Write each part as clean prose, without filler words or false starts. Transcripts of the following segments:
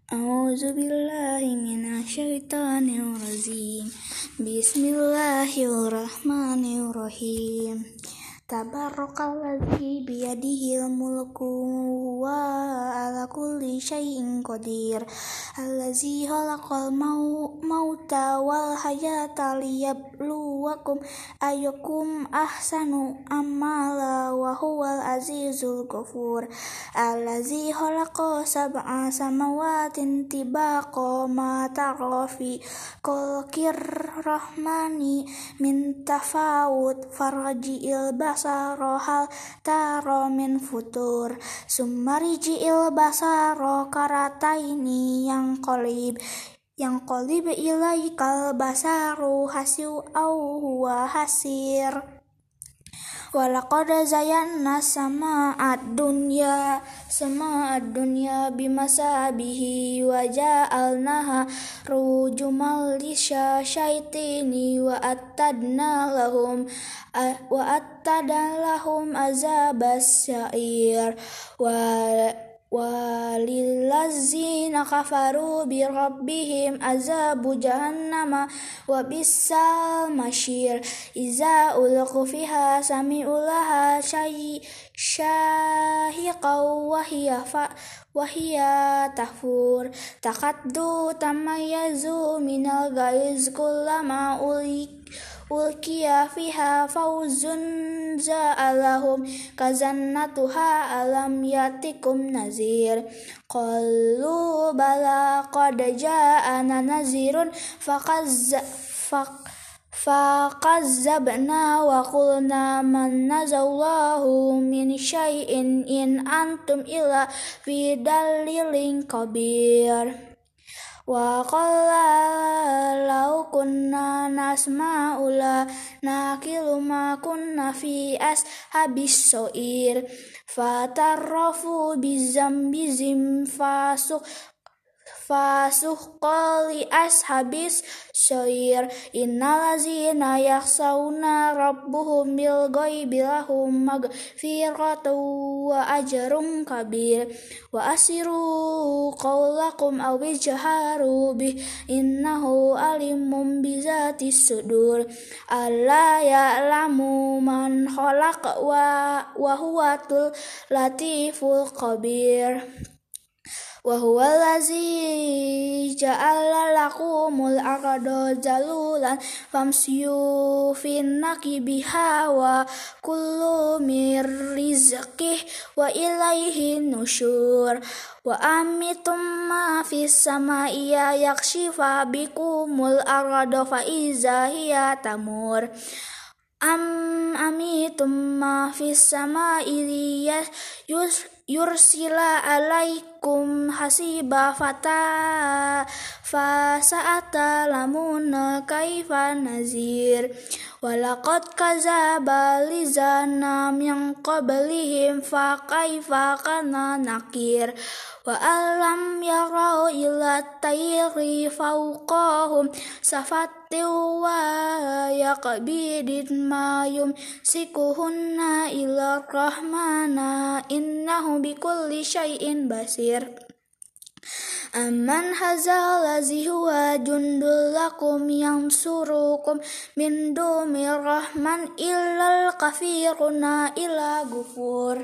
A'udzubillahi minasyaitonirrajim. Bismillahirrahmanirrahim. Tabarakalladzi biyadihil mulku wa ala kulli syai'in qadir. Allazi khalaqal mauta wal hayata liyabluwakum ayyukum ahsanu amala wa huwal azizul ghafur. Allazi khalaqa sab'a samawatin tibaqa ma tara fi khalqir rahmani min tafawut farji'il basara hal tara min futur summa riji'il basara karataini yang qalib ilaikal basaru hasiu au huwa hasir. Walaqad zayyana sama'ad dunya bimasabihi wa ja'alnaha rujumal lisyayaitini wa attadna lahum azabas sa'ir walillazina kafaru bi rabbihim azabu jahannama wa bisal masyir. Iza ulqu fiha sami'u laha syahiqaw wa hiya tahfur takaddu tamayyazu minal ghaiz kullama ulqiya fiha fawzun za'alahum kazannatuha alam yatikum nazir. Qalu bala qad ja'ana nazirun faqazzabna wa qulna man nazallahu min syai'in in antum illa fi dalilin kabir. Wa qala law kunna nasma'u la naqilu ma kunna fi ashabis so'ir fatarrafu bizambizim fasuqali ashabis so'ir. Innalazina yakhsawna rabbuhum bil ghaibi lahum magfiratu wa ajrun kabir. Wa asiru qawlakum aw ijharu bih innahu alimun bizatis sudur. Alla ya'lamu man khalaq wa huwatul latiful khabir. Wa huwal ladzi ja'ala lakumul arda zalulan famsyu finnakibiha wa kullu mir rizqih wa ilaihi nusyur. Wa amitum ma fis samai yakshifa bikumul arda fa iza hiya tamur. Amitum ma fis samai yursila alaikum hasiba fasa'ata lamuna kaifa nazir. Walaqad kazaba lizana min qablihim fa kaifa kana nakir. Wa alam yarau ila tayri fawqahum safatiu wa yaqbidin ma yumsikuhunna ila rahmana innahu bikulli syai'in basir. Amman hazal lazi huwa jundul lakum yansurukum min dumir rahman illal kafiruna illa gufur.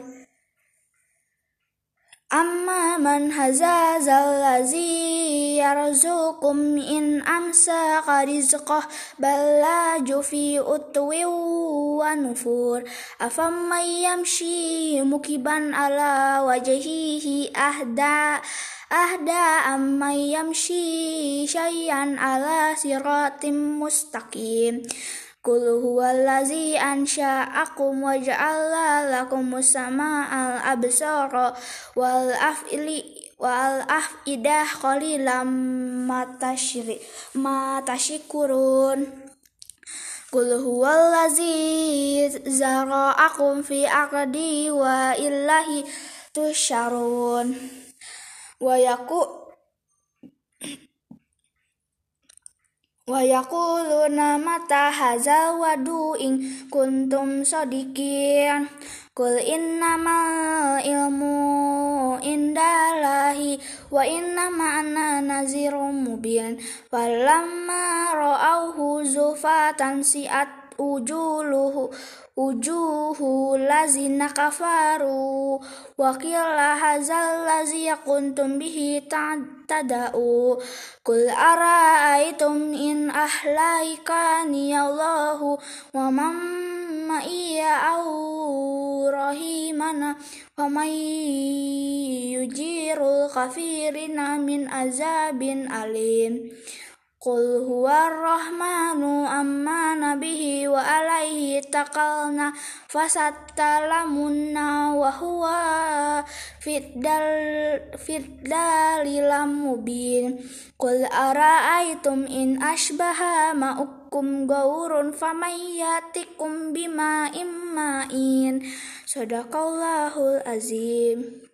Amma man hazal lazi yarzukum in amsaka rizqah ballaju fi utwi wa nufur. Afamman yamshi mukiban ala wajhihi ahda amman yamshi syai'an ala siratim mustaqim. Qul huwallazi ansha'akum wa ja'ala lakumus sama'al absara wal af'idah qalilan ma tashkurun. Qul huwallazi zara'akum fi ardi wa illahi tusyarun. Wa yaquluna mata hadzal wa'du in kuntum shadiqin. Qul innamal ilmu indallahi wa innama ana nazirum mubin. Falamma ra'awhu zufatan si'at ujuhu lazina kafaru wa qila hadzal ladzi kuntum bihi tada'u. Qul ara'aytum in ahlaikani Allahu wa man ma'iya au rahimana wa may yujirul kafirina min azabin alim. Qul huwa rahmanu ammana bihi wa alaihi takalna fasattalamunna wa huwa fiddalilam mubin. Qul ara'aytum in ashbaha ma'ukum gaurun famayyatikum bima imma'in. Sadaqallahul azim.